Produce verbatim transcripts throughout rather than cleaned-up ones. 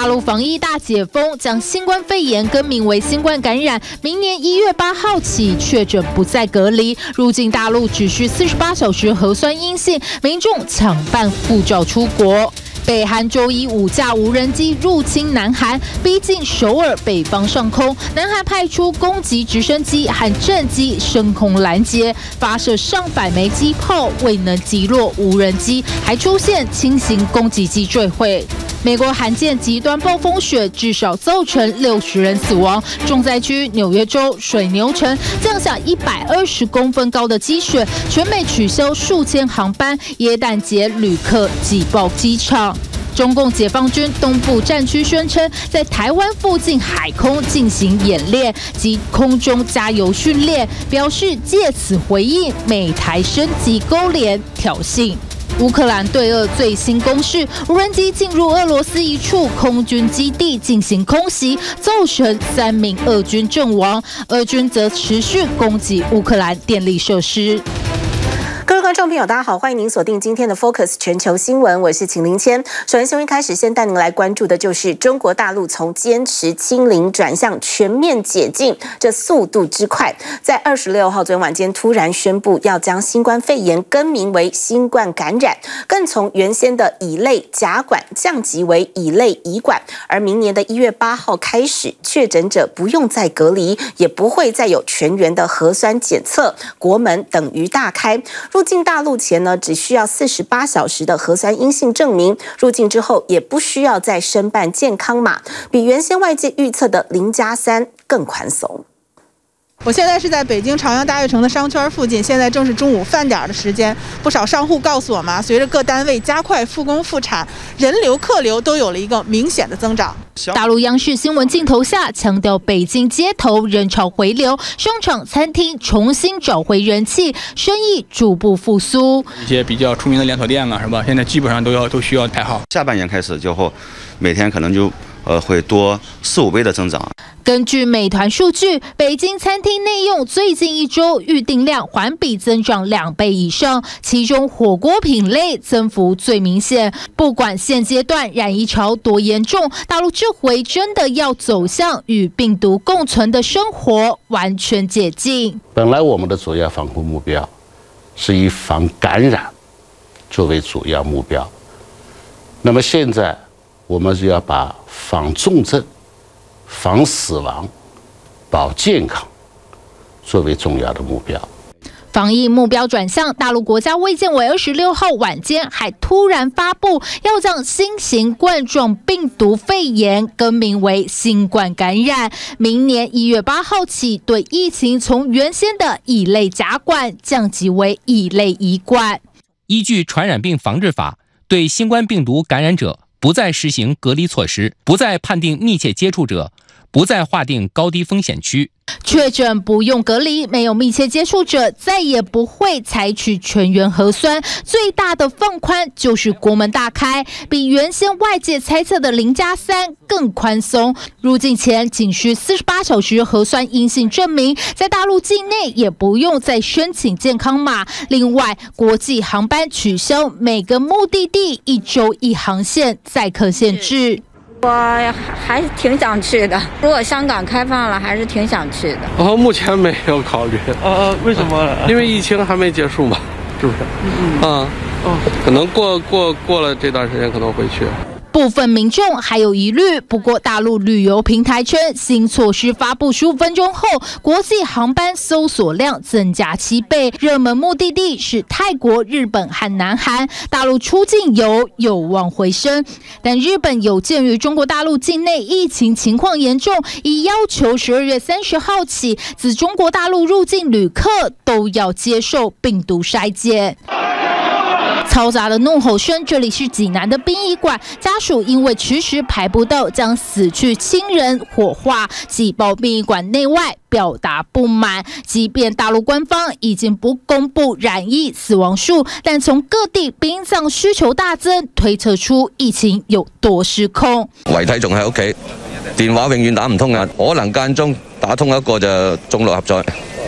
大陸防疫大解封，將新冠肺炎更名為新冠感染。明年一月八號起，確診不再隔離，入境大陸只需四十八小時核酸陰性，民眾搶辦護照出國。北韓周一五架無人機入侵南韓，逼近首爾北方上空。南韓派出攻擊直升機和戰機升空攔截，發射上百枚機炮，未能擊落無人機，還出現輕型攻擊機墜毀。美國罕見極端暴風雪至少造成六十人死亡，重災區紐約州水牛城降下一百二十公分高的積雪，全美取消數千航班，耶誕節旅客擠爆機場。中共解放軍東部戰區宣稱，在台灣附近海空進行演練及空中加油訓練，表示借此回應美台升級勾連挑釁。烏克蘭對俄最新攻勢，無人機進入俄羅斯一處空軍基地進行空襲，造成三名俄軍陣亡。俄軍則持續攻擊烏克蘭電力設施。 各位觀眾朋友，大家好，歡迎您鎖定今天的 Focus 全球新聞，我是秦林謙。首先，新聞一開始，先帶您來關注的就是中國大陸從堅持清零轉向全面解禁，這速度之快，在二十六號昨天晚間突然宣布要將新冠肺炎更名為新冠感染，更從原先的乙類甲管降級為乙類乙管，而明年的一月八號開始，確診者不用再隔離，也不會再有全員的核酸檢測，國門等於大開。入境大陸前呢，只需要四十八小時的核酸陰性證明；入境之後，也不需要再申辦健康碼，比原先外界預測的零加三更寬鬆。 我現在是在北京朝陽大悅城的商圈附近，現在正是中午飯點的時間。不少商戶告訴我們，隨着各單位加快復工復產，人流客流都有了一個明顯的增長。 大陸央視新聞鏡頭下強調，北京街頭人潮回流，商場、餐廳重新找回人氣，生意逐步復甦。 一些比較出名的連鎖店啊，是吧？現在基本上都要都需要排號。 下半年開始之後，每天可能就呃會多四五倍的增長。 根據美團數據，北京餐廳內用最近一周預訂量環比增長兩倍以上，其中火鍋品類增幅最明顯。不管現階段染疫潮多嚴重，大陸這回真的要走向與病毒共存的生活，完全解禁。 本來我們的主要防控目標是以防感染作為主要目標，那麼現在我們是要把防重症、防死亡、保健康作為重要的目標。 防疫目標轉向，大陸國家衛健委二十六號晚間還突然發布，要將新型冠狀病毒肺炎更名為新冠感染。明年一月八號起，對疫情從原先的乙類甲管降級為乙類乙管。 依據傳染病防治法，對新冠病毒感染者不再實行隔離措施，不再判定密切接觸者，不再劃定高低風險區。 確診不用隔離，沒有密切接觸者，再也不會採取全員核酸。最大的放寬就是國門大開，比原先外界猜測的零加三更寬鬆。入境前僅需四十八小時核酸陰性證明，在大陸境內也不用再申請健康碼。另外，國際航班取消每個目的地一周一航線，載客限制。 我還是挺想去的，如果香港開放了，還是挺想去的。 哦，目前沒有考慮。 呃、啊，為什麼？ 因為疫情還沒結束嘛，是不是？嗯嗯。啊，哦，可能過過過了這段時間可能會去。 部分民眾還有疑慮，不過大陸旅遊平台稱，新措施發布十五分鐘後，國際航班搜索量增加七倍，熱門目的地是泰國、日本和南韓，大陸出境遊有望回升。但日本有鑑於中國大陸境內疫情情況嚴重，已要求十二月三十號起，自中國大陸入境旅客都要接受病毒篩檢。嘈雜的怒吼聲，這裡是濟南的殯儀館，家屬因為遲遲排不到將死去親人火化，擠爆殯儀館內外，表達不滿。即便大陸官方已經不公布染疫死亡數，但從各地殯葬需求大增，推測出疫情有多失控。 遺體仲喺屋企，電話永遠打唔通啊，可能間中打通一個就中六合彩。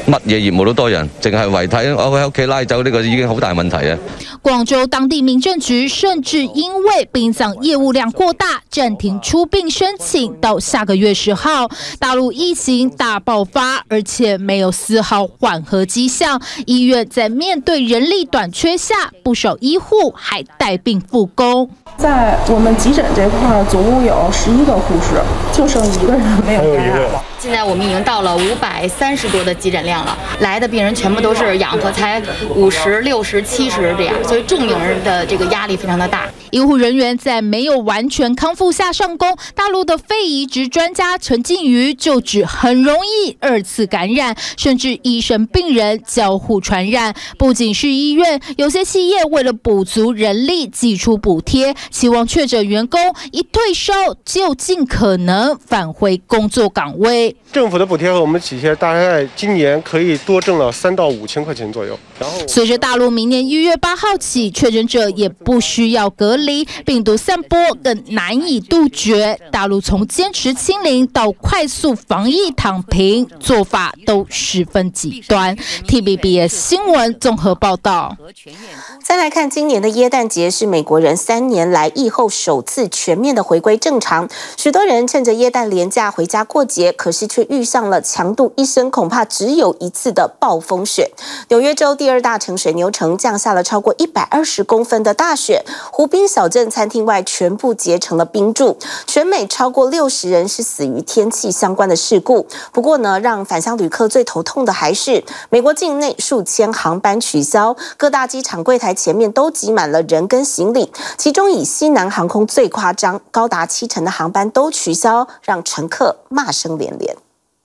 乜嘢業務都多人，淨係遺體我喺屋企拉走呢個已經好大問題啊！ 廣州當地民政局甚至因為殯葬業務量過大，暫停出殯申請到下個月十號。大陸疫情大爆發，而且沒有絲毫緩和跡象。醫院在面對人力短缺下，不少醫護還帶病復工。 在我們急診這塊，總共有十一個護士，就剩一個人沒有感染了。 現在我們已經到了五百三十多的急診量了，來的病人全部都是氧合才五十、六十、七十這樣，所以重病人的這個壓力非常的大。 醫護人員在沒有完全康復下上工，大陸的肺移植專家陳靜瑜就指很容易二次感染，甚至醫生病人交互傳染。不僅是醫院，有些企業為了補足人力，祭出補貼，期望確診員工一退燒就盡可能返回工作崗位。 政府的補貼和我們企業大概今年可以多掙了三到五千塊錢左右。然後， 隨着大陸明年一月八號起，確診者也不需要隔離，病毒散播更難以杜絕。大陸從堅持清零到快速防疫躺平，做法都十分極端。T V B S 新聞綜合報道。 再來看今年的耶誕節，是美國人三年來疫後首次全面的回歸正常。許多人趁着耶誕連假回家過節，可是卻遇上了強度一生恐怕只有一次的暴風雪。紐約州第二大城水牛城降下了超過一百二十公分的大雪，湖濱小鎮餐廳外全部結成了冰柱。全美超過六十人是死於天氣相關的事故。不過呢，讓返鄉旅客最頭痛的還是美國境內數千航班取消，各大機場櫃台前面都擠滿了人跟行李，其中以西南航空最誇張，高達七成的航班都取消，讓乘客罵聲連連。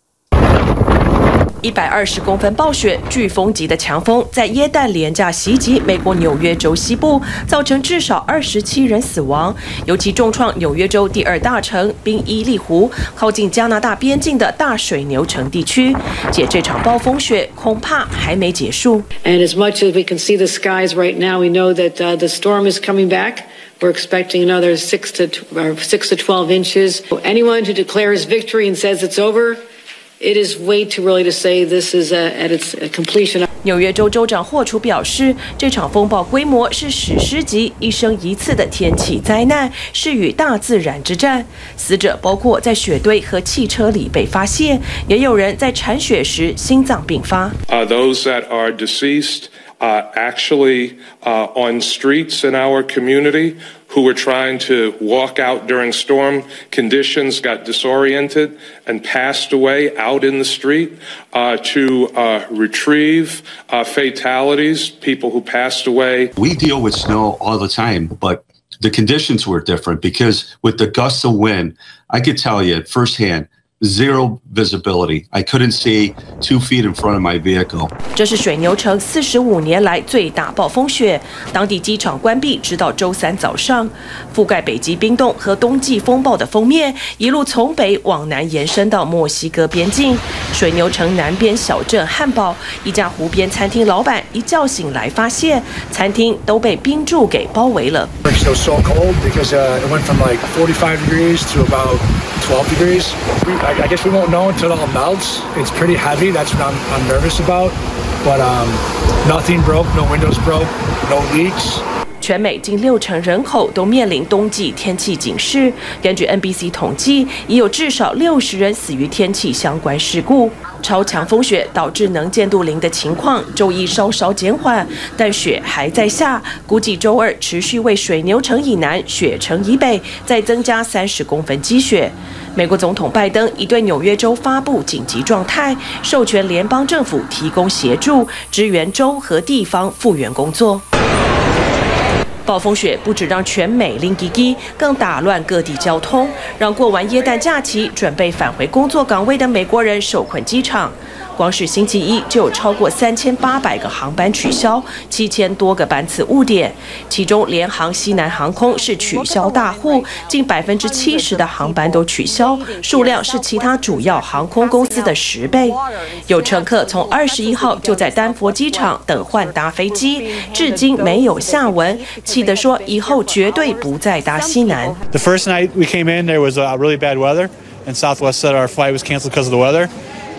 一百二十公分暴雪，颶風級的強風在耶誕連假襲擊美國紐約州西部，造成至少二十七人死亡，尤其重創紐約州第二大城賓伊利湖，靠近加拿大邊境的大水牛城地區。且這場暴風雪恐怕還沒結束。 And as much as we can see the skies right now, we know that uh, the storm is coming back. We're expecting another six to or six to twelve inches. Anyone who declares victory and says it's over.It is way too early to say this is at its completion. 紐約州州長霍楚表示，這場風暴規模是史詩級、一生一次的天氣災難，是與大自然之戰。死者包括在雪堆和汽車裡被發現，也有人在鏟雪時心臟病發。 Uh, those that are deceased, uh, actually, uh, on streets in our community.Who were trying to walk out during storm conditions, got disoriented, and passed away out in the street. Uh, to uh, retrieve uh, fatalities, people who passed away. We deal with snow all the time, but the conditions were different because with the gusts of wind, I could tell you firsthand.Zero visibility. I couldn't see two feet in front of my vehicle. 這是水牛城四十五年來最大暴風雪，當地機場關閉直到周三早上。覆蓋北極冰凍和冬季風暴的鋒面，一路從北往南延伸到墨西哥邊境。水牛城南邊小鎮漢堡，一家湖邊餐廳老闆一覺醒來發現，餐廳都被冰柱給包圍了。 It was so cold because uh, it went from like forty-five degrees to about twelve degrees. I guess we won't know until it all melts. It's pretty heavy. That's what I'm, I'm nervous about. But um, nothing broke, no windows broke, no leaks. 全美近六成人口都面臨冬季天氣警示。根據 N B C 統計，已有至少六十人死於天氣相關事故。超強風雪導致能見度零的情況，週一稍稍減緩，但雪還在下。估計週二持續為水牛城以南、雪城以北再增加三十公分積雪。美國總統拜登已對紐約州發布緊急狀態，授權聯邦政府提供協助，支援州和地方復原工作。暴風雪不只讓全美淋吉吉，更打亂各地交通，讓過完耶誕假期準備返回工作崗位的美國人受困機場。光是星期一就有超過三千八百個航班取消，七千多個班次誤點，其中聯航西南航空是取消大戶，近百分之七十的航班都取消，數量是其他主要航空公司的十倍。有乘客從二十一號就在丹佛機場等換搭飛機，至今沒有下文，氣得說以後絕對不再搭西南。 The first night we came in, there was uh, really bad weather, and Southwest said our flight was canceled because of the weather.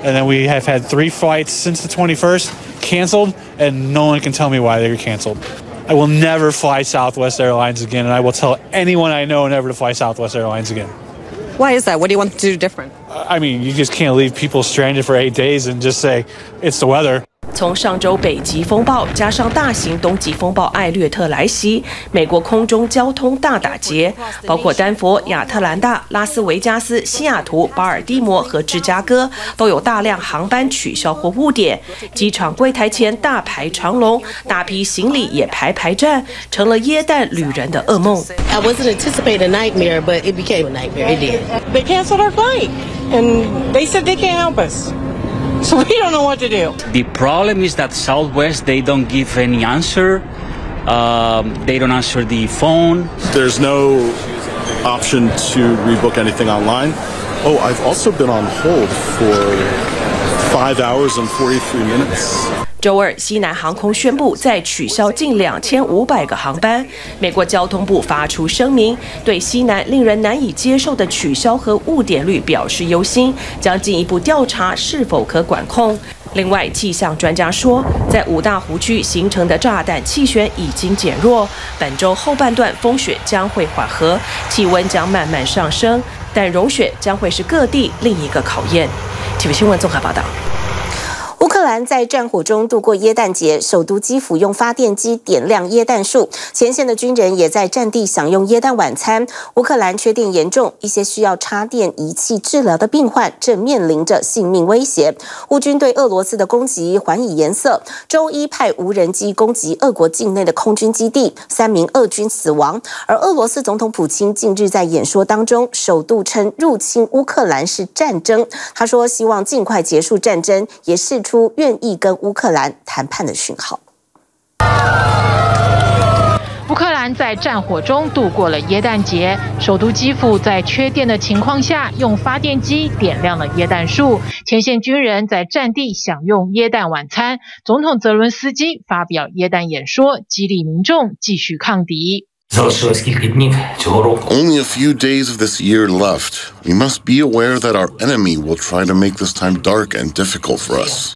and then we have had three flights since the twenty-first canceled, and no one can tell me why they were canceled. I will never fly Southwest Airlines again, and I will tell anyone I know never to fly Southwest Airlines again. Why is that? What do you want to do different? I mean, you just can't leave people stranded for eight days and just say it's the weather. 从上周北极风暴加上大型东极风暴艾略特来袭，美国空中交通大打劫，包括丹佛、亚特蘭大、拉斯維加斯、西雅圖、巴爾的摩和芝加哥都有大量航班取消或誤點，機場櫃台前大排長龍，大批行李也排排站，成了耶誕旅人的噩夢。 I wasn't anticipating a nightmare, but it became a nightmare. It did. They canceled our flight, and they said they can't help us. So we don't know what to do. The problem is that Southwest, they don't give any answer. Um, they don't answer the phone. There's no option to rebook anything online. Oh, I've also been on hold for five hours and forty-three minutes. 周二，西南航空宣布再取消近两千五百个航班。美国交通部发出声明，对西南令人难以接受的取消和誤點率表示憂心，將進一步調查是否可管控。另外，氣象專家說，在五大湖區形成的炸彈氣旋已經減弱，本週後半段風雪將會緩和，氣溫將慢慢上升，但融雪將會是各地另一個考驗。體育新聞綜合報道。 烏克蘭在戰火中度過耶誕節，首都基輔用發電機點亮耶誕樹，前線的軍人也在戰地享用耶誕晚餐。烏克蘭缺電嚴重，一些需要插電儀器治療的病患正面臨着性命威脅。烏軍對俄羅斯的攻擊還以顏色，周一派無人機攻擊俄國境內的空軍基地，三名俄軍死亡。而俄羅斯總統普京近日在演說當中，首度稱入侵烏克蘭是戰爭。他說希望盡快結束戰爭，也釋出出願意跟烏克蘭談判的訊號。 烏克蘭在戰火中度過了耶誕節，首都基輔在缺電的情況下，用發電機點亮了耶誕樹，前線軍人在戰地享用耶誕晚餐。總統澤倫斯基發表耶誕演說，激勵民眾繼續抗敵。 Only a few days of this year left. We must be aware that our enemy will try to make this time dark and difficult for us.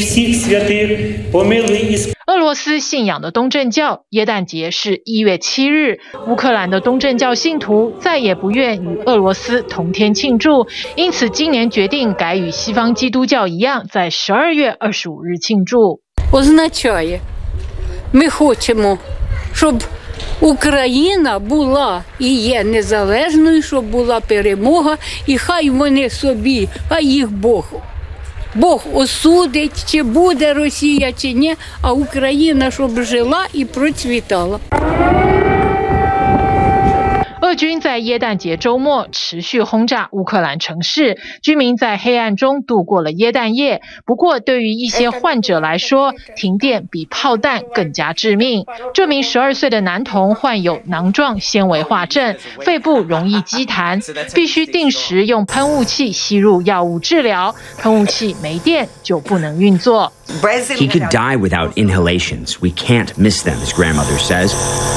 俄羅斯信仰的東正教耶誕節是一月七日，烏克蘭的東正教信徒再也不願與俄羅斯同天慶祝，因此今年決定改與西方基督教一樣，在十二月二十五日慶祝。 Означає, ми хочемо, щоб Україна була і є незалежною, щоб була перемога, і хай вони собі, хай їх Бог. Бог осудить, чи буде Росія, чи ні, а Україна, щоб жила і процвітала. 俄軍在耶誕節週末持續轟炸烏克蘭城市，居民在黑暗中度過了耶誕夜。不過，對於一些患者來說，停電比炮彈更加致命。這名十二歲的男童患有囊狀纖維化症，肺部容易積痰，必須定時用噴霧器吸入藥物治療。噴霧器沒電就不能運作。 He could die without inhalations. We can't miss them, his grandmother says.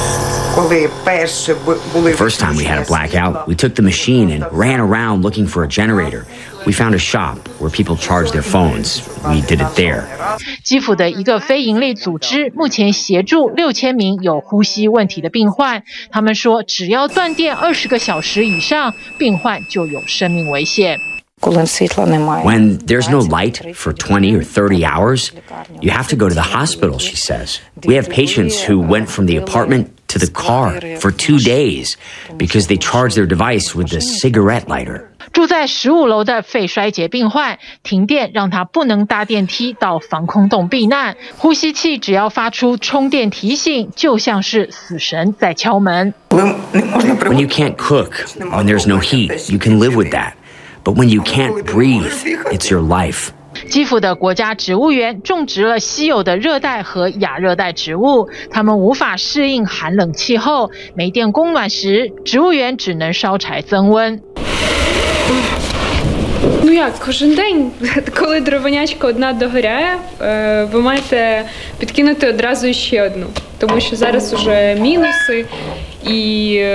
The first time we had a blackout, we took the machine and ran around looking for a generator. We found a shop where people charge their phones. We did it there. 基輔的一個非營利組織目前協助六千名有呼吸問題的病患。他們說，只要斷電二十個小時以上，病患就有生命危險。 When there's no light for twenty or thirty hours, you have to go to the hospital, she says. We have patients who went from the apartment to the car for two days because they charged their device with a cigarette lighter. 住在十五樓的肺衰竭病患，停電讓他不能搭電梯到防空洞避難，呼吸器只要發出充電提醒，就像是死神在敲門。 When you can't cook, when there's no heat, you can live with that. But when you can't breathe, it's your life. 基輔的國家植物園種植了稀有的熱帶和亞熱帶植物，它們無法適應寒冷氣候，沒電供暖時，植物園只能燒柴增溫。 Ну як, кожен день, коли дровонячка одна догоряє, ви маєте підкинути одразу ще одну, тому що зараз уже мінуси, і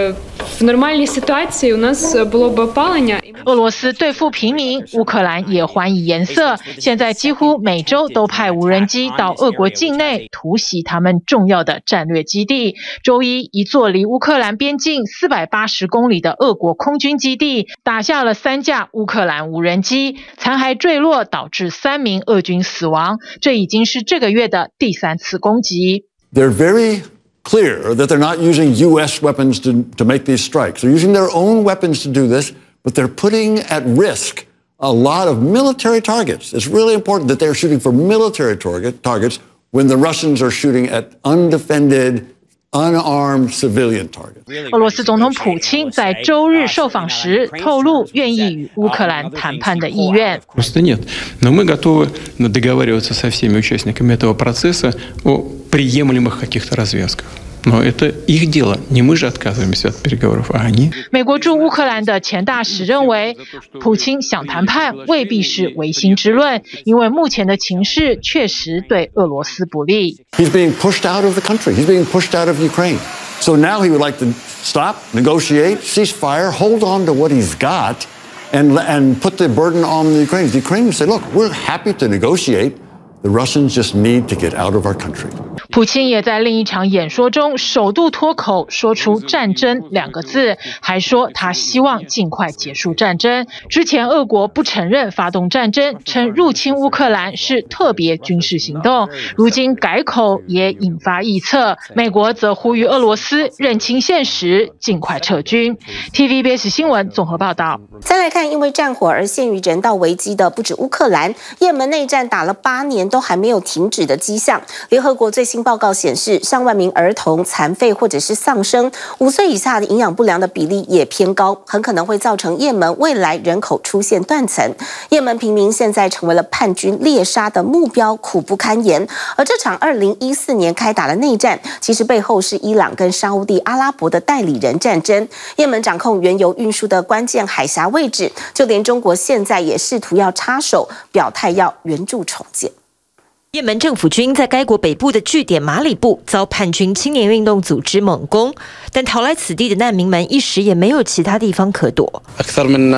В нормальній ситуації у нас було б опалення. 俄羅斯對付平民，烏克蘭也還以顏色。現在幾乎每周都派無人機到俄國境內突襲他們重要的戰略基地。周一，一座離烏克蘭邊境四百八十公里的俄國空軍基地打下了三架烏克蘭無人機，殘骸墜落，導致三名俄軍死亡。這已經是這個月的第三次攻擊。 They're very clear that they're not using U S weapons to, to make these strikes. They're using their own weapons to do this, but they're putting at risk a lot of military targets. It's really important that they're shooting for military target, targets when the Russians are shooting at undefended, unarmed civilian targets. 俄羅斯總統普京在周日受訪時透露，願意與烏克蘭談判的意願。 Просто нет. Но мы готовы договариваться со всеми участниками этого процесса о приемлемых каких-то развязках. Но это их дело, не мы же отказываемся от переговоров, а они. 美國駐烏克蘭的前大使認為，普京想談判未必是違心之論，因為目前的情勢確實對俄羅斯不利。 He's being pushed out of the country. He's being pushed out of Ukraine. So now he would like to stop, negotiate, cease fire, hold on to what he's got, and and put the burden on the Ukrainians. The Ukrainians say, "Look, we're happy to negotiate. The Russians just need to get out of our country." 普京也在另一場演說中首度脫口說出戰爭兩個字，還說他希望盡快結束戰爭。之前俄國不承認發動戰爭，稱入侵烏克蘭是特別軍事行動，如今改口也引發臆測。美國則呼籲俄羅斯認清現實，盡快撤軍。T V B S 新聞綜合報道。 再來看，因為戰火而陷於人道危機的不止烏克蘭，也門內戰打了八年都還沒有停止的跡象。聯合國最新報告顯示，上萬名兒童殘廢或者是喪生，五歲以下的營養不良的比例也偏高，很可能會造成也門未來人口出現斷層。也門平民現在成為了叛軍獵殺的目標，苦不堪言。而這場二零一四年開打的內戰，其實背後是伊朗跟沙烏地阿拉伯的代理人戰爭。也門掌控原油運輸的關鍵海峽位置，就連中國現在也試圖要插手，表態要援助重建。 也門政府軍在該國北部的據點馬里布遭叛軍青年運動組織猛攻，但逃來此地的難民們一時也沒有其他地方可躲。 أكثر من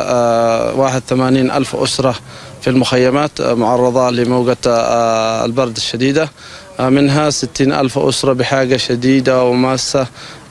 واحد وثمانين ألف أسرة في المخيمات معرضة لموجة البرد الشديدة، منها ستين ألف أسرة بحاجة شديدة وماسة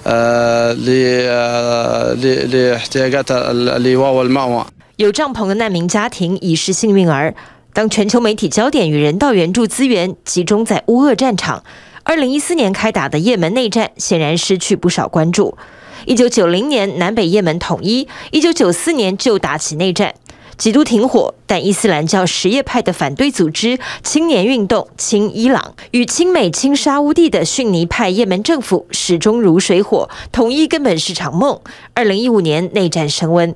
لاحتياجات اللواء والمأوى。 有帳篷的難民家庭已是幸運兒。當全球媒體焦點與人道援助資源集中在烏俄戰場，二零一四年開打的也門內戰顯然失去不少關注。一九九零年南北也門統一，一九九四年就打起內戰，幾度停火，但伊斯蘭教什葉派的反對組織青年運動親伊朗與親美親沙烏地的遜尼派也門政府始終如水火，統一根本是場夢。二零一五年內戰升溫。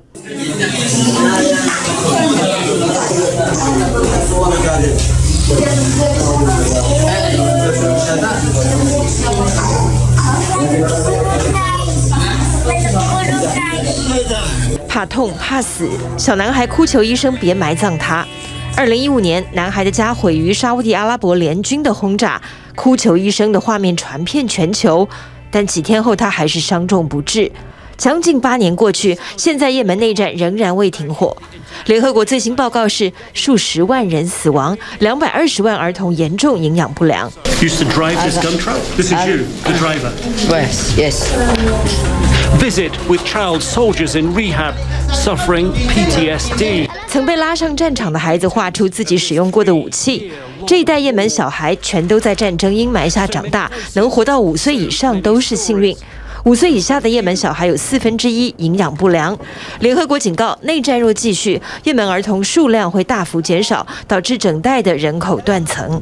怕痛怕死，小男孩哭求醫生別埋葬他。二零一五年，男孩的家毀於沙烏地阿拉伯聯軍的轟炸，哭求醫生的畫面傳遍全球，但幾天後他還是傷重不治。將近八年過去，現在也門內戰仍然未停火。聯合國最新報告是數十萬人死亡，兩百二十萬兒童嚴重營養不良。 Used to drive this gun truck? This is you, the driver. Yes, yes. Visit with child soldiers in rehab, suffering P T S D. 曾被拉上戰場的孩子畫出自己使用過的武器。這一代也門小孩全都在戰爭陰霾下長大，能活到五歲以上都是幸運。五歲以下的也門小孩有四分之一營養不良。聯合國警告，內戰若繼續，也門兒童數量會大幅減少，導致整代的人口斷層。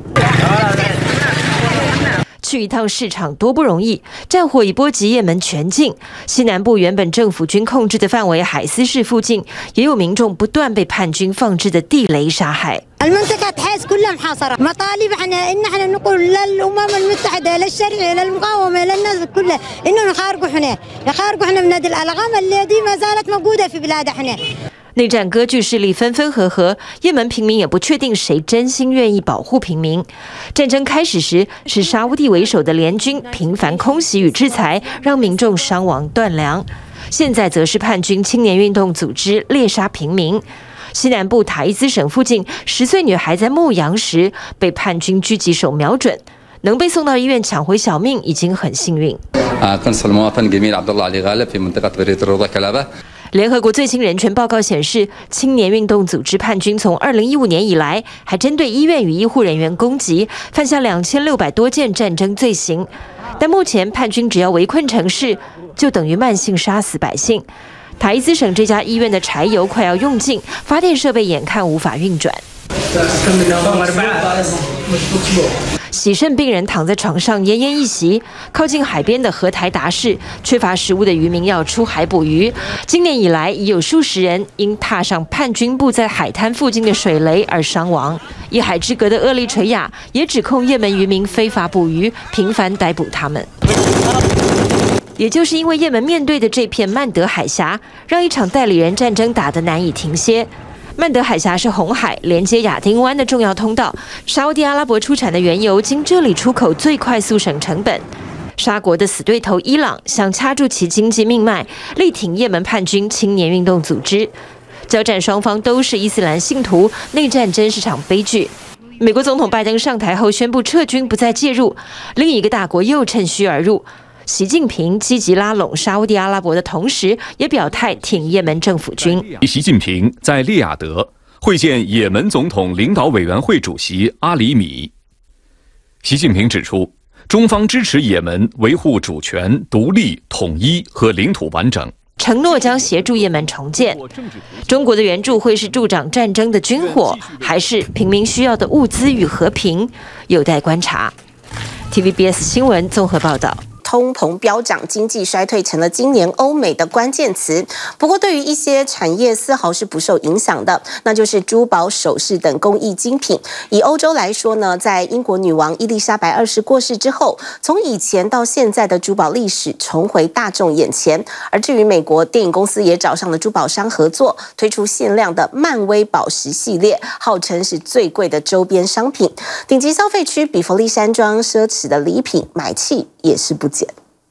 去一趟市場多不容易，戰火已波及也門全境。西南部原本政府軍控制的範圍海斯市附近，也有民眾不斷被叛軍放置的地雷殺害。 المنطقة تحس كلها محاصرة، مطالب احنا إن احنا نقول للأمم المتحدة للشريعة للمقاومة للناس كلها إنه يخارجوا احنا يخارجوا احنا من هذه الألغام التي ما زالت موجودة في بلاد احنا。 內戰割據勢力分分合合，也門平民也不確定誰真心願意保護平民。戰爭開始時，是沙烏地為首的聯軍頻繁空襲與制裁，讓民眾傷亡斷糧。 現在則是叛軍青年運動組織獵殺平民。西南部塔伊茲省附近，十歲女孩在牧羊時被叛軍狙擊手瞄準，能被送到醫院搶回小命已經很幸運。聯合國最新人權報告顯示，青年運動組織叛軍從二零一五年以來，還針對醫院與醫護人員攻擊，犯下兩千六百多件戰爭罪行。但目前叛軍只要圍困城市，就等於慢性殺死百姓。塔伊茲省這家醫院的柴油快要用盡，發電設備眼看無法運轉。洗腎病人躺在床上奄奄一息，靠近海邊的荷台達市，缺乏食物的漁民要出海捕魚。今年以來，已有數十人因踏上叛軍布在海灘附近的水雷而傷亡。一海之隔的厄立垂亞也指控也門漁民非法捕魚，頻繁逮捕他們。也就是因為也門面對的這片曼德海峽，讓一場代理人戰爭打得難以停歇。曼德海峽是紅海連接亞丁灣的重要通道，沙烏地阿拉伯出產的原油經這裡出口最快速省成本。沙國的死對頭伊朗想掐住其經濟命脈，力挺也門叛軍青年運動組織。交戰雙方都是伊斯蘭信徒，內戰真是場悲劇。美國總統拜登上台後宣布撤軍不再介入，另一個大國又趁虛而入。習近平積極拉攏沙烏地阿拉伯的同時，也表態挺也門政府軍。 習近平在利雅得會見也門總統領導委員會主席阿里米。習近平指出，中方支持也門維護主權、獨立、統一和領土完整， 承諾將協助也門重建。中國的援助會是助長戰爭的軍火，還是平民需要的物資與和平，有待觀察。T V B S 新聞綜合報道。 通膨飆漲、經濟衰退成了今年歐美的關鍵詞。不過，對於一些產業絲毫是不受影響的，那就是珠寶首飾等工藝精品。以歐洲來說呢，在英國女王伊麗莎白二世過世之後，從以前到現在的珠寶歷史重回大眾眼前。而至於美國電影公司也找上了珠寶商合作，推出限量的漫威寶石系列，號稱是最貴的周邊商品。頂級消費區比佛利山莊奢侈的禮品買氣也是不減。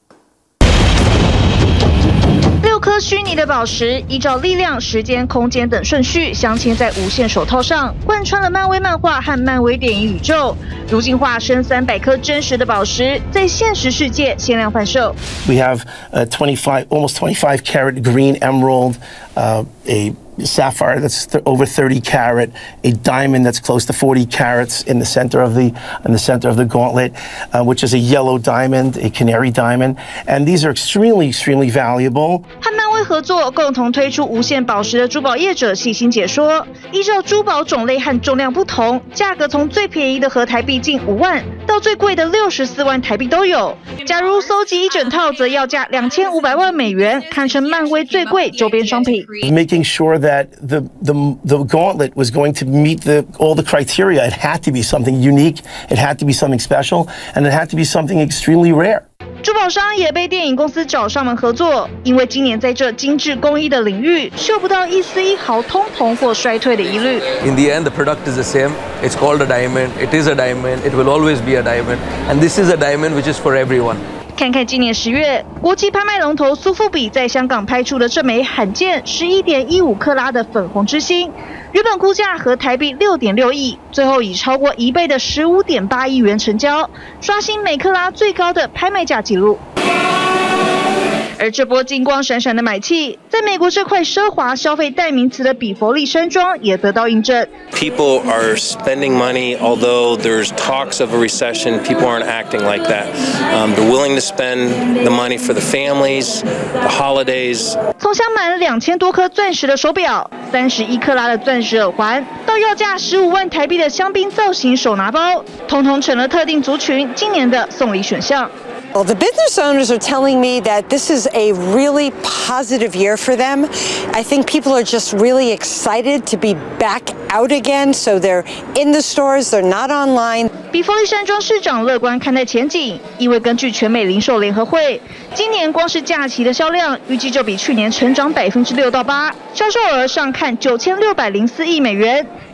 六顆虛擬的寶石，依照力量、時間、空間等順序鑲嵌在無線手套上，貫穿了漫威漫畫和漫威電影宇宙。如今化身三百顆真實的寶石，在現實世界限量販售。 We have a twenty-five, almost twenty-five carat green emerald, uh, a sapphire that's th- over thirty carat, a diamond that's close to forty carats in the center of the in the center of the gauntlet, uh, which is a yellow diamond, a canary diamond, and these are extremely, extremely valuable. 和漫威合作，共同推出無限寶石的珠寶業者細心解說，依照珠寶種類和重量不同，價格從最便宜的合台幣近五萬，到最貴的六十四萬台幣都有。假如搜集一整套，則要價兩千五百萬美元，堪稱漫威最貴周邊商品。 Making sure that the the the gauntlet was going to meet the all the criteria. It had to be something unique. It had to be something special, and it had to be something extremely rare. 珠寶商也被電影公司找上門合作，因為今年在這精緻工藝的領域，嗅不到一絲一毫通膨或衰退的疑慮。 In the end, the product is the same. It's called a diamond. It is a diamond. It will always be a diamond. And this is a diamond which is for everyone. 看看今年十月，國際拍賣龍頭蘇富比在香港拍出的這枚罕見十一點一五克拉的粉紅之星，原本估價合台幣六點六億，最後以超過一倍的十五點八億元成交，刷新每克拉最高的拍賣價紀錄。而這波金光閃閃的買氣，在美國這塊奢華消費代名詞的比佛利山莊也得到印證。 People are spending money, although there's talks of a recession. People aren't acting like that. Um, they're willing to spend the money for the families, the holidays. 從鑲滿了兩千多顆鑽石的手錶，三十一克拉的鑽石耳環，到要價十五萬台幣的香檳造型手拿包，統統成了特定族群今年的送禮選項。 Well, the business owners are telling me that this is a really positive year for them. I think people are just really excited to be back out again, so they're in the stores, they're not online. 比佛利山莊市長樂觀看待前景，因為根據全美零售聯合會，今年光是假期的銷量，預計就比去年成長百分之六到八，銷售額上看九千六百零四億美元。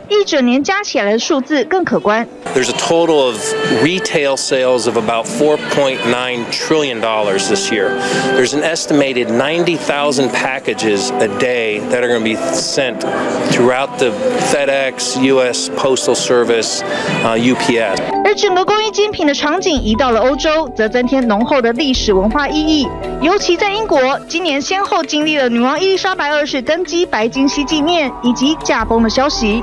一整年加起來的數字更可觀。 There's a total of retail sales of about four point nine trillion dollars this year. There's an estimated ninety thousand packages a day that are going to be sent throughout the FedEx, U S Postal Service, uh, U P S. 而整個供應精品的場景移到了歐洲，則增添濃厚的歷史文化意義。尤其在英國，今年先後經歷了女王伊麗莎白二世登基白金禧紀念以及駕崩的消息。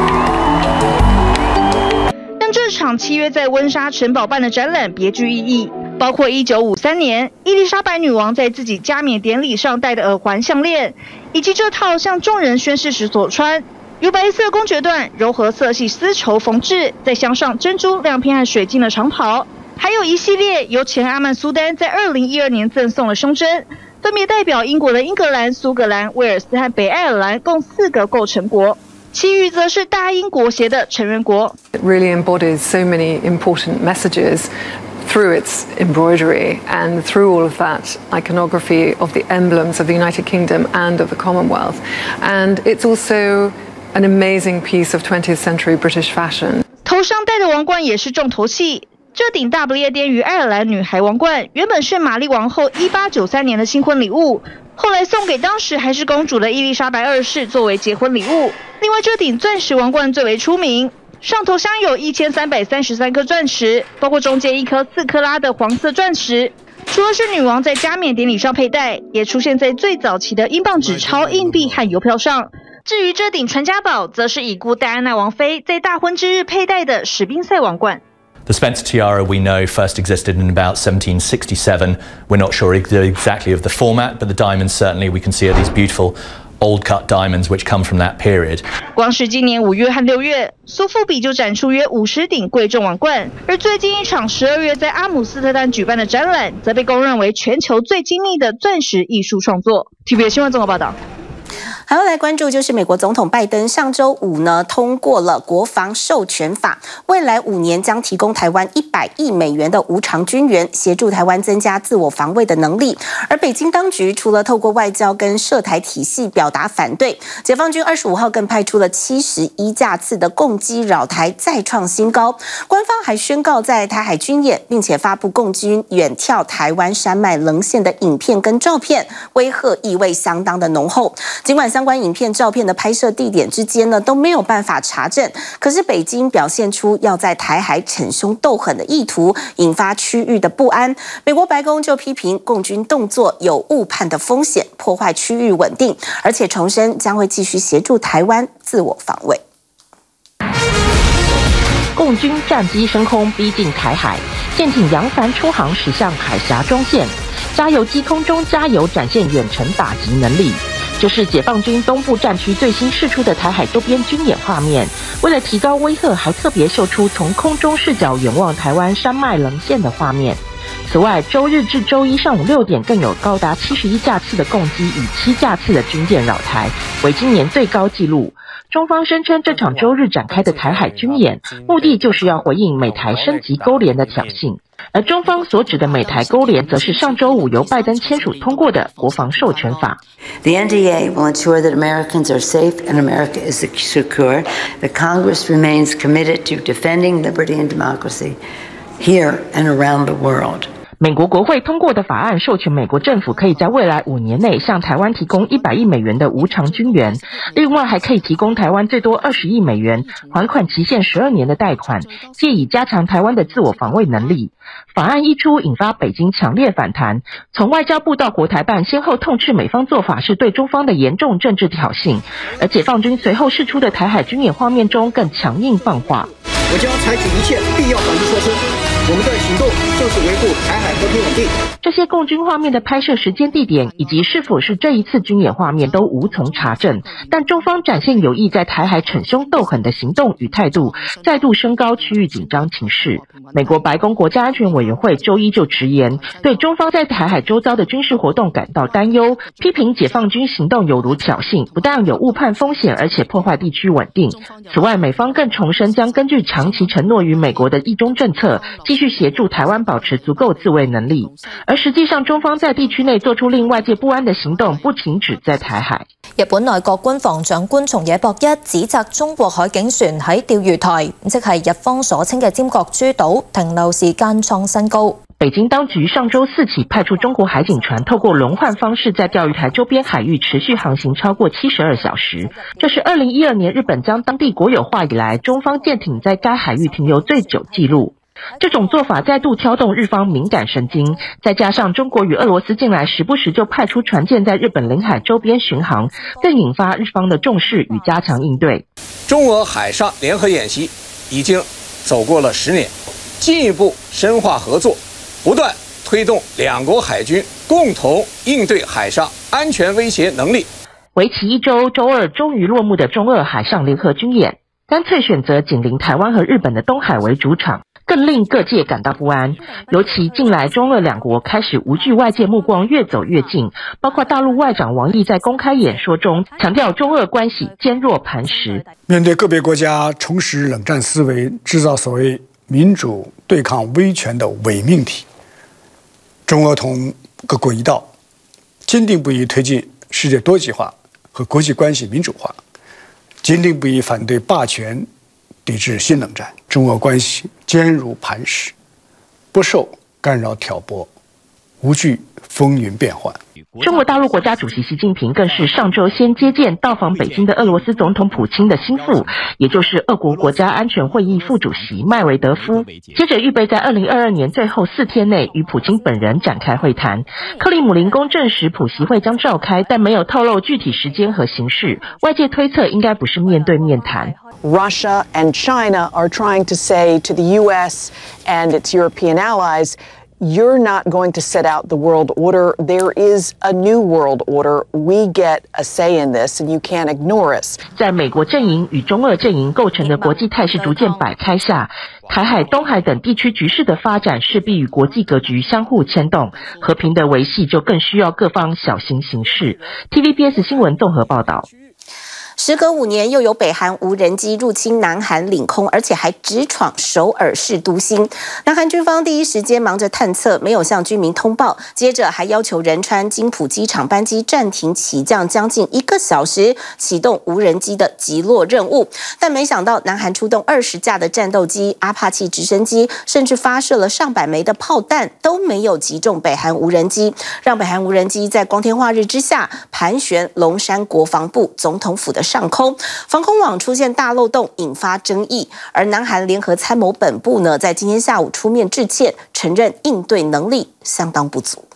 但這場七月在溫莎城堡辦的展覽別具意義，包括一九五三年伊麗莎白女王在自己加冕典禮上戴的耳環項鏈，以及這套向眾人宣誓時所穿。由白色公爵緞、柔和色系絲綢縫製，再鑲上珍珠、亮片和水晶的長袍，還有一系列由前阿曼蘇丹在二零一二年贈送的胸針，分別代表英國的英格蘭、蘇格蘭、威爾斯和北愛爾蘭共四個構成國，其餘則是大英國協的成員國。 It really embodies so many important messages through its embroidery and through all of that iconography of the emblems of the United Kingdom and of the Commonwealth. And it's also an amazing piece of twentieth century British fashion. 頭上戴的王冠也是重頭戲。這頂大不列顛與愛爾蘭女孩王冠原本是瑪麗王后一八九三年的新婚禮物，後來送給當時還是公主的伊麗莎白二世作為結婚禮物。另外，這頂鑽石王冠最為出名，上頭鑲有一千三百三十三顆鑽石，包括中間一顆四克拉的黃色鑽石。除了是女王在加冕典禮上佩戴，也出現在最早期的英鎊紙鈔、硬幣和郵票上。至於這頂傳家寶，則是已故戴安娜王妃在大婚之日佩戴的史賓塞王冠。 The Spencer tiara we know first existed in about seventeen sixty-seven. We're not sure exactly of the format, but the diamonds certainly we can see are these beautiful old cut diamonds which come from that period. 光是今年五月和六月，蘇富比就展出約五十頂貴重王冠，而最近一場十二月在阿姆斯特丹舉辦的展覽，則被公認為全球最精密的鑽石藝術創作。T V B 新聞綜合報道。 還要來關注，就是美國總統拜登上周五呢通過了國防授權法，未來五年將提供台灣一百億美元的無償軍援，協助台灣增加自我防衛的能力。而北京當局除了透過外交跟涉台體系表達反對，解放軍二十五號更派出了七十一架次的共機擾台，再創新高。官方還宣告在台海軍演，並且發布共軍遠眺台灣山脈稜線的影片跟照片，威嚇意味相當的濃厚。儘管相關影片、照片的拍攝地點之間呢都沒有辦法查證，可是北京表現出要在台海逞兇鬥狠的意圖，引發區域的不安。美國白宮就批評共軍動作有誤判的風險，破壞區域穩定，而且重申將會繼續協助台灣自我防衛。 共軍戰機升空逼近台海，艦艇揚帆出航駛向海峽中線，加油機空中加油展現遠程打擊能力。這是解放軍東部戰區最新釋出的台海周邊軍演畫面，為了提高威嚇，還特別秀出從空中視角遠望台灣山脈稜線的畫面。此外，周日至周一上午六點，更有高達七十一架次的共機與七架次的軍艦擾台，為今年最高紀錄。中方聲稱，這場周日展開的台海軍演，目的就是要回應美台升級勾連的挑釁。而中方所指的美台勾連，則是上周五由拜登簽署通過的國防授權法。 The N D A will ensure that Americans are safe and America is secure. The Congress remains committed to defending liberty and democracy here and around the world. 美國國會通過的法案授權美國政府可以在未來五年內向台灣提供一百億美元的無償軍援，另外還可以提供台灣最多二十億美元，還款期限十二年的貸款，借以加強台灣的自我防衛能力。法案一出，引發北京強烈反彈，從外交部到國台辦先後痛斥美方做法是對中方的嚴重政治挑釁，而解放軍隨後釋出的台海軍演畫面中更強硬放話。 我將採取一切必要防禦措施，我們的行動就是維護台海和平穩定。 這些共軍畫面的拍攝時間、地點以及是否是這一次軍演畫面都無從查證，但中方展現有意在台海逞兇鬥狠的行動與態度，再度升高區域緊張情勢。美國白宮國家安全委員會周一就直言，對中方在台海周遭的軍事活動感到擔憂，批評解放軍行動有如挑釁，不但有誤判風險，而且破壞地區穩定。此外，美方更重申將根據長期承諾與美國的一中政策，繼繼續協助台灣保持足夠自衛能力。而實際上，中方在地區內做出令外界不安的行動，不僅止在台海。 日本內閣官房長官松野博一指責中國海警船喺釣魚台，即係日方所稱嘅尖閣諸島停留時間創新高。 北京當局上周四起派出中國海警船，透過輪換方式在釣魚台周邊海域持續航行超過七十二小時。這是二零一二年日本將當地國有化以來，中方艦艇在該海域停留最久紀錄。這種做法再度挑動日方敏感神經，再加上中國與俄羅斯近來時不時就派出船艦在日本領海周邊巡航，更引發日方的重視與加強應對。 中俄海上聯合演習已經走過了十年，進一步深化合作，不斷推動兩國海軍共同應對海上安全威脅能力。 為期一周，周二終於落幕的中俄海上聯合軍演，乾脆選擇緊鄰台灣和日本的東海為主場，更令各界感到不安。尤其近來中俄兩國開始無懼外界目光，越走越近，包括大陸外長王毅在公開演說中強調中俄關係堅若磐石。 面對個別國家重拾冷戰思維，製造所謂民主對抗威權的偽命題，中俄同各國一道，堅定不移推進世界多極化和國際關係民主化，堅定不移反對霸權，抵制新冷戰。中俄關係堅如磐石，不受干擾挑撥，無懼風雲變幻。 中國大陸國家主席習近平更是上周先接見到訪北京的俄羅斯總統普京的心腹，也就是俄國國家安全會議副主席麥維德夫，接着預備在二零二二年最後四天內與普京本人展開會談。克里姆林宮證實普習會將召開，但沒有透露具體時間和形式，外界推測應該不是面對面談。 Russia and China are trying to say to the U S and its European allies, you're not going to set out the world order. There is a new world order. We get a say in this, and you can't ignore us. 在美國陣營與中俄陣營構成的國際態勢逐漸擺開下，台海、東海等地區局勢的發展勢必與國際格局相互牽動，和平的維繫就更需要各方小心行事。T V B S 新聞綜合報道。 時隔五年，又有北韓無人機入侵南韓領空，而且還直闖首爾市都心。南韓軍方第一時間忙着探測，沒有向居民通報，接着還要求仁川金浦機場班機暫停起降將近一個小時，啟動無人機的擊落任務。但沒想到，南韓出動二十架的戰鬥機、阿帕契直升機，甚至發射了上百枚的炮彈，都沒有擊中北韓無人機，讓北韓無人機在光天化日之下盤旋龍山國防部總統府的上空，防空網出現大漏洞，引發爭議。而南韓聯合參謀本部呢，在今天下午出面致歉，承認應對能力相當不足。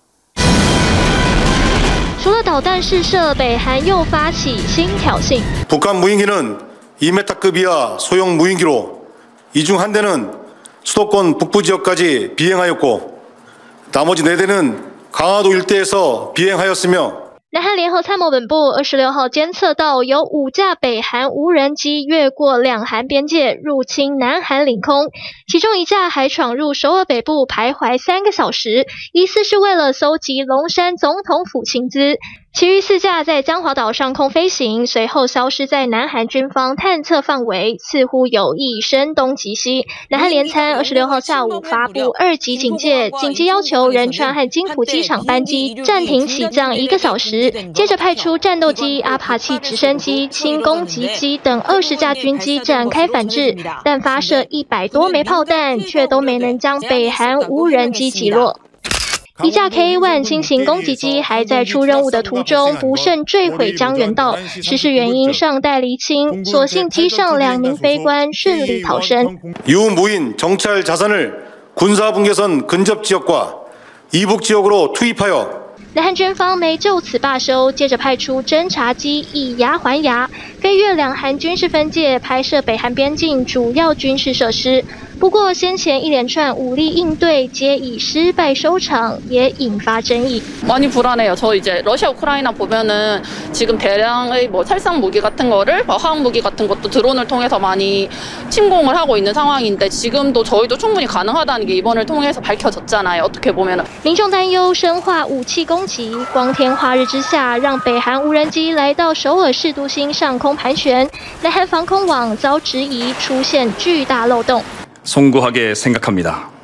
除了導彈試射，北韓又發起新挑釁。 북한 무인기는 이 미터급 이하 소형 무인기로 이 중 한 대는 수도권 북부 지역까지 비행하였고 나머지 네 대는 강화도 일대에서 비행하였으며。 南韓聯合參謀本部二十六號監測到有五架北韓無人機越過兩韓邊界入侵南韓領空，其中一架還闖入首爾北部徘徊三個小時，疑似是為了搜集龍山總統府情資。其餘四架在江華島上空飛行，隨後消失在南韓軍方探測範圍，似乎有意聲東擊西。南韓聯參二十六號下午發布二級警戒，緊急要求仁川和金浦機場班機暫停起降一個小時，接着派出戰鬥機、阿帕契直升機、輕攻擊機等二十架軍機展開反制，但發射一百多枚炮彈，卻都沒能將北韓無人機擊落。一架 K 一 輕型攻擊機還在出任務的途中不慎墜毀江原道，失事原因尚待釐清，所幸機上兩名飛官順利逃生。 유무인 정찰 자산을 군사분계선 근접 지역과 이북 지역으로 투입하여。 南韓軍方沒就此罷休，接着派出偵察機以牙還牙，飛越兩韓軍事分界，拍攝北韓邊境主要軍事設施。不過先前一連串武力應對皆以失敗收場，也引發爭議。 많이 불안해요. 저 이제 러시아 우크라이나 보면은 지금 대량의 뭐 살상 무기 같은 거를 화학 무기 같은 것도 드론을 통해서 많이 침공을 하고 있는 상황인데 지금도 저희도 충분히 가능하다는 게 이번을 통해서 밝혀졌잖아요. 어떻게 보면은 民眾擔憂生化武器攻擊，光天化日之下，讓北韓無人機來到首爾市都心上空盤旋，南韓防空網遭質疑出現巨大漏洞。 송구하게 생각합니다.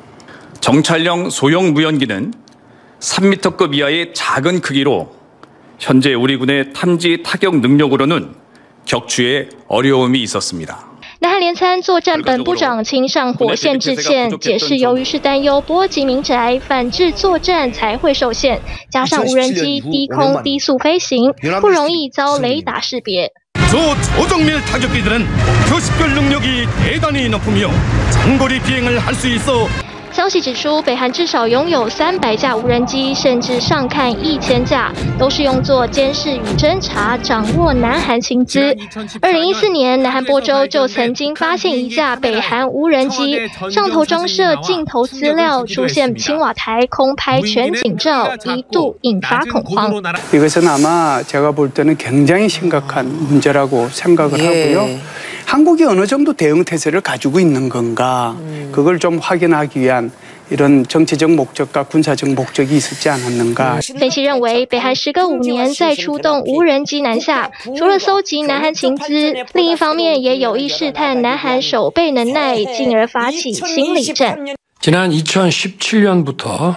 정찰용 소형 무연기는 삼 미터급 이하의 작은 크기로 현재 우리 군의 탐지 타격 능력으로는 격추에 어려움이 있었습니다. 南韓聯參作戰本部長親上火線致歉，解釋由於是擔憂波及民宅，反制作戰才會受限，加上無人機低空低速飛行，不容易遭雷達識別。 저 조정밀 타격기들은 표식별 능력이 대단히 높으며 장거리 비행을 할 수 있어. 消息指出，北韓至少擁有三百架無人機，甚至上看一千架，都是用作監視與偵察，掌握南韓情資。二零一四年，南韓播州就曾經發現一架北韓無人機，上頭裝設鏡頭資料，出現青瓦台空拍全景照，一度引發恐慌。 이것은 아마 제가 볼 때는 굉장히 심각한 문제라고 생각을 하고요. 한국이 어느 정도 대응 태세를 가지고 있는 건가, 그걸 좀 확인하기 위한 이런 정치적 목적과 군사적 목적이 있었지 않았는가. 分析認為，北韓時隔五年再出動無人機南下，除了搜集南韓情資，另一方面也有意試探南韓守備能耐，進而發起心理戰。 지난 이천십칠 년부터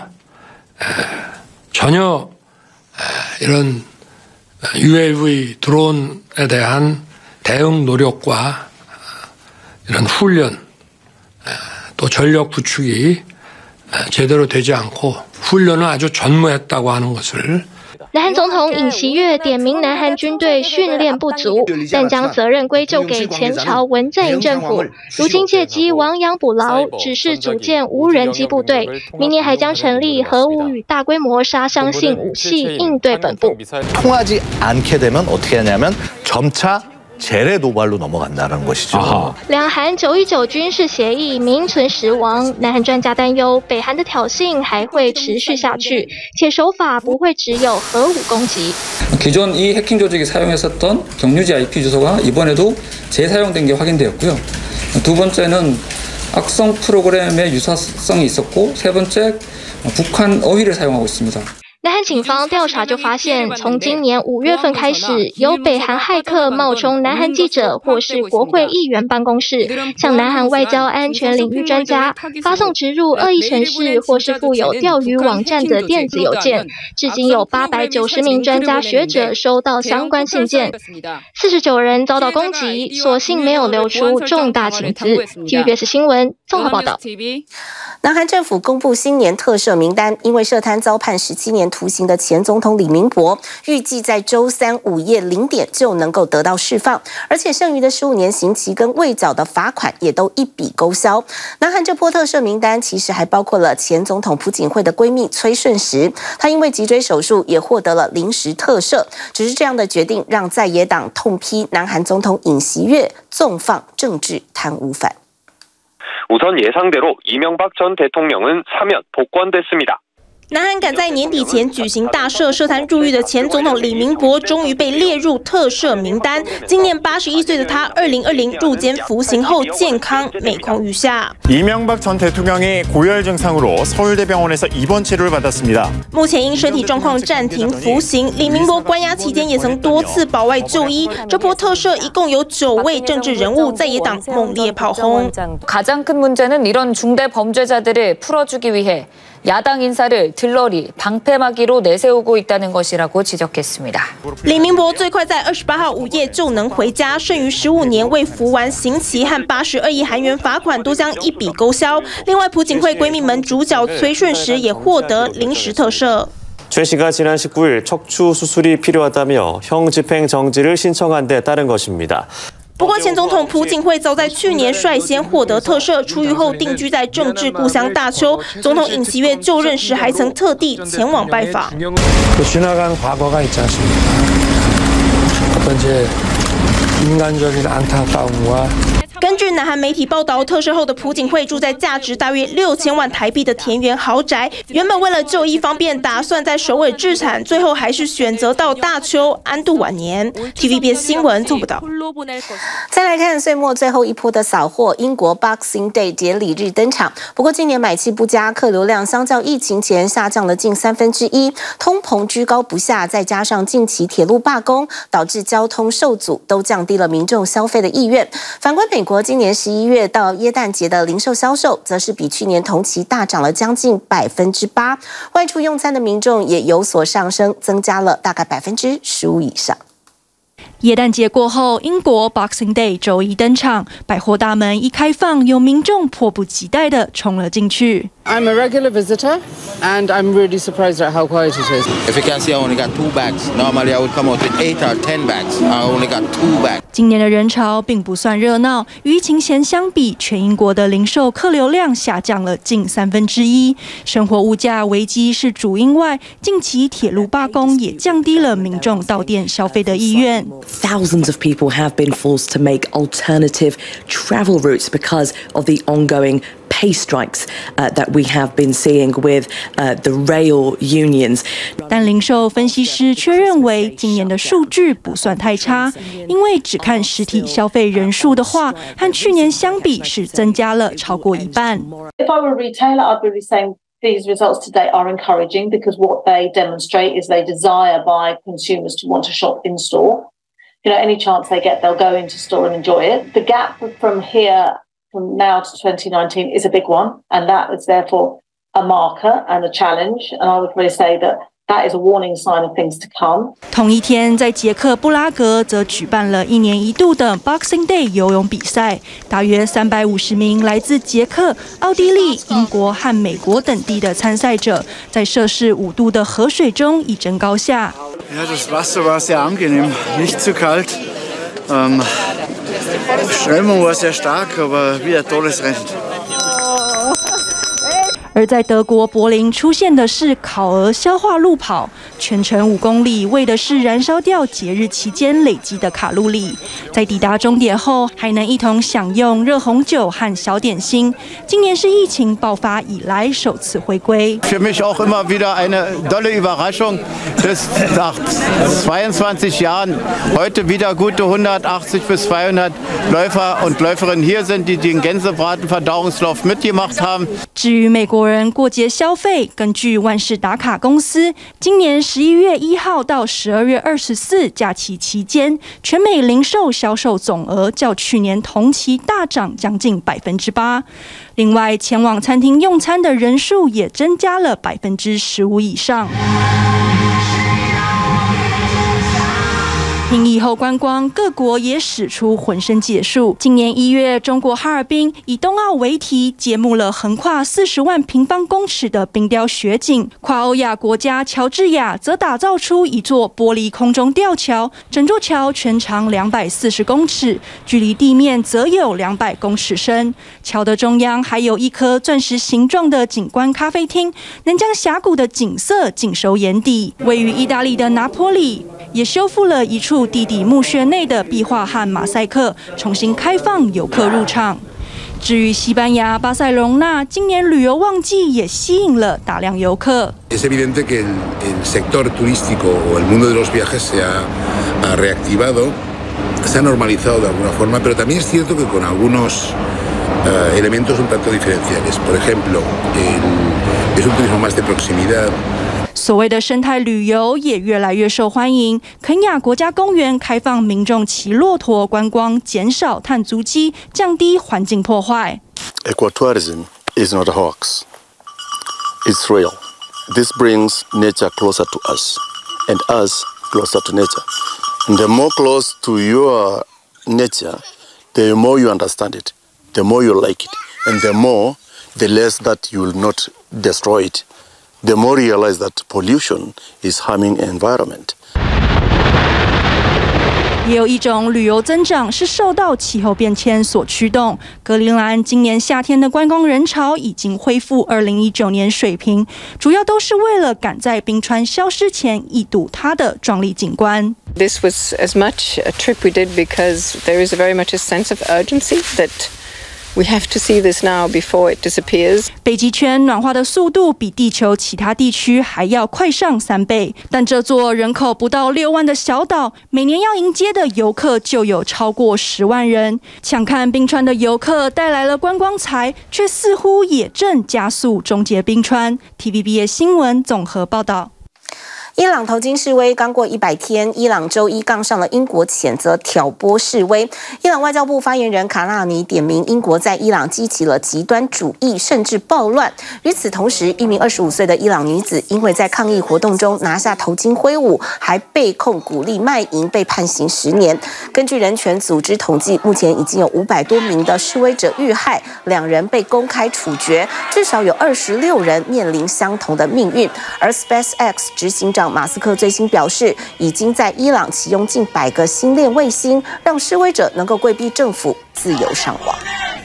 전혀 이런 유에이브이 드론에 대한 대응 노력과 이런 훈련 또 전력 구축이 제대로 되지 않고 훈련을 아주 전무했다고 하는 것을 南韓總統尹錫悅點名南韓軍隊訓練不足，但將責任歸咎給前朝文在寅政府。如今借機亡羊補牢，指示組建無人機部隊，明年還將成立核武與大規模殺傷性武器應對本部。 통하지 않게 되면 어떻게 하냐면 점차 재래 도발로 넘어간다는 것이죠. 兩韓九一九軍事協議名存實亡，南韓專家擔憂北韓的挑釁還會持續下去，且手法不會只有核武攻擊。 기존 이 해킹 조직이 사용했었던 경유지 아이피 주소가 이번에도 재사용된 게 확인되었고요. 두 번째는 악성 프로그램의 유사성이 있었고, 세 번째 북한 어휘를 사용하고 있습니다. 南韓警方調查就發現，從今年五月份開始，有北韓駭客冒充南韓記者或是國會議員辦公室，向南韓外交安全領域專家發送植入惡意程式或是附有釣魚網站的電子郵件。至今有八百九十名專家學者收到相關信件，四十九人遭到攻擊，所幸沒有流出重大情資。T V B S 新聞綜合報道。 南韓政府公布新年特赦名單，因為涉貪遭判十七年徒刑的前總統李明博，預計在週三午夜零點就能夠得到釋放，而且剩餘的十五年刑期跟未繳的罰款也都一筆勾銷。南韓這波特赦名單其實還包括了前總統朴槿惠的閨蜜崔順實，她因為脊椎手術也獲得了臨時特赦。只是這樣的決定讓在野黨痛批南韓總統尹錫悅縱放政治貪污犯。 우선 예상대로 이명박 전 대통령은 사면 복권됐습니다. 南韓趕在年底前舉行大赦，涉貪入獄的前總統李明博終於被列入特赦名單。今年八十一歲的他，二零二零入監服刑後健康每況愈下。 이명박 전 대통령이 고열 증상으로 서울대병원에서 입원 치료를 받았습니다. 目前因身體狀況暫停服刑，李明博關押期間也曾多次保外就醫。這波特赦一共有九位政治人物，在野黨猛烈炮轟。 가장 큰 문제는 이런 중대 범죄자들을 풀어주기 위해 야당 인사를 들러리 방패막이로 내세우고 있다는 것이라고 지적했습니다. 李明博最快在二十八號午夜就能回家，剩餘十五年未服完刑期和八十二億韓元罰款都將一筆勾銷。另外，朴槿惠閨蜜們主角崔順實也獲得臨時特赦。 최 씨가 지난 십구 일 척추 수술이 필요하다며 형 집행 정지를 신청한 데 따른 것입니다. 不過，前總統朴槿惠早在去年率先獲得特赦，出獄後定居在政治故鄉大邱。總統尹錫悅就任時還曾特地前往拜訪。 지나간 과거가 있지 않습니까? 어떤 제 인간적인 안타까움과 根據南韓媒體報道，特赦後的朴槿惠住在價值大約六千萬台幣的田園豪宅。原本為了就醫方便，打算在首爾置產，最後還是選擇到大邱安度晚年。T V B S 新聞做不到。 再來看歲末最後一波的掃貨，英國 Boxing Day 節禮日登場。不過今年買氣不佳，客流量相較疫情前下降了近三分之一，通膨居高不下，再加上近期鐵路罷工，導致交通受阻，都降低了民眾消費的意願。反觀美國。 國今年十一月到耶誕節的零售銷售，則是比去年同期大漲了將近百分之八，外出用餐的民眾也有所上升，增加了大概百分之十五以上。 耶誕節過後，英國 Boxing Day 週一登場，百貨大門一開放，有民眾迫不及待地衝了進去。 I'm a regular visitor, and I'm really surprised at how quiet it is. If you can see, I only got two bags. Normally, I would come out with eight or ten bags. I only got two bags. 今年的人潮並不算熱鬧，與疫情前相比，全英國的零售客流量下降了近三分之一。生活物價危機是主因外，近期鐵路罷工也降低了民眾到店消費的意願。 Thousands of people have been forced to make alternative travel routes because of the ongoing pay strikes uh, that we have been seeing with uh, the rail unions. 但零售分析師卻認為，今年的數據不算太差，因為只看實體消費人數的話，和去年相比是增加了超過一半。 If I were a retailer, I'd be saying these results today are encouraging because what they demonstrate is they desire by consumers to want to shop in store. You know, any chance they get, they'll go into store and enjoy it. The gap from here, from now to twenty nineteen, is a big one, and that is therefore a marker and a challenge. And I would really say that that is a warning sign of things to come. 同一天，在捷克布拉格則舉辦了一年一度的 Boxing Day 游泳比賽，大約三百五十名來自捷克、奧地利、英國和美國等地的參賽者，在攝氏五度的河水中一爭高下。 Ja, das Wasser war sehr angenehm, nicht zu kalt. Ähm, Strömung war sehr stark, aber wie ein tolles Rennen. 而在德國柏林出現的是烤鵝消化路跑，全程五公里，為的是燃燒掉節日期間累積的卡路里。在抵達終點後，還能一同享用熱紅酒和小點心。今年是疫情爆發以來首次回歸。 Für mich auch immer wieder eine tolle Überraschung, dass nach zweiundzwanzig Jahren heute wieder gute hundertachtzig bis zweihundert Läufer und Läuferinnen hier sind, die den Gänsebraten-Verdauungslauf mitgemacht haben. 至於美國人過節消費，根據萬事達卡公司，今年十一月一號到十二月二十四假期期間，全美零售銷售總額較去年同期大漲將近百分之八。另外，前往餐廳用餐的人數也增加了百分之十五以上。因疫後觀光，各國也使出渾身解數。今年一月，中國哈爾濱以冬奧為題，揭幕了橫跨四十萬平方公尺的冰雕雪景。跨歐亞國家喬治亞則打造出一座玻璃空中吊橋，整座橋全長兩百四十公尺，距離地面則有兩百公尺深。橋的中央還有一顆鑽石形狀的景觀咖啡廳，能將峽谷的景色盡收眼底。位於意大利的拿坡里也修復了一處地底墓穴內的壁畫和馬賽克，重新開放遊客入場。至於西班牙巴塞隆納，今年旅遊旺季也吸引了大量遊客。 Es evidente que el, el sector turístico o el mundo de los viajes se ha, ha reactivado, se ha normalizado de alguna forma, pero también es cierto que con algunos uh, elementos un tanto diferenciales. Por ejemplo, el, es un turismo más de proximidad. 所謂的生態旅遊也越來越受歡迎。肯亞國家公園開放民眾騎駱駝觀光，減少碳足跡，降低環境破壞。 Ecotourism is not a hoax. It's real. This brings nature closer to us, and us closer to nature. And the more close to your nature, the more you understand it, the more you like it, and the more, the less that you will not destroy it. The more you realize that pollution is harming the environment. 也有一種旅遊增長是受到氣候變遷所驅動。格陵蘭今年夏天的觀光人潮已經恢復二零一九年水平，主要都是為了趕在冰川消失前一睹它的壯麗景觀。 This was as much a trip we did because there is very much a sense of urgency that we have to see this now before it disappears. 北極圈暖化的速度比地球其他地區還要快上三倍，但這座人口不到六萬的小島，每年要迎接的遊客就有超過十萬人。搶看冰川的遊客帶來了觀光財，卻似乎也正加速終結冰川。T V B S 新聞綜合報道。 伊朗頭巾示威剛過一百天，伊朗周一槓上了英國譴責挑撥示威。伊朗外交部發言人卡納尼點名英國在伊朗激起了極端主義，甚至暴亂。與此同時，一名二十五歲的伊朗女子因為在抗議活動中拿下頭巾揮舞，還被控鼓勵賣淫，被判刑十年。根據人權組織統計，目前已經有五百多名的示威者遇害，兩人被公開處決，至少有二十六人面臨相同的命運。而 SpaceX 執行長馬斯克最新表示，已經在伊朗啟用近百個星鏈衛星，讓示威者能夠規避政府，自由上網。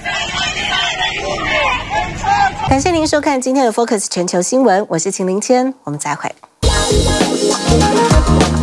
感謝您收看今天的 Focus 全球新聞，我是秦林谦，我們再會。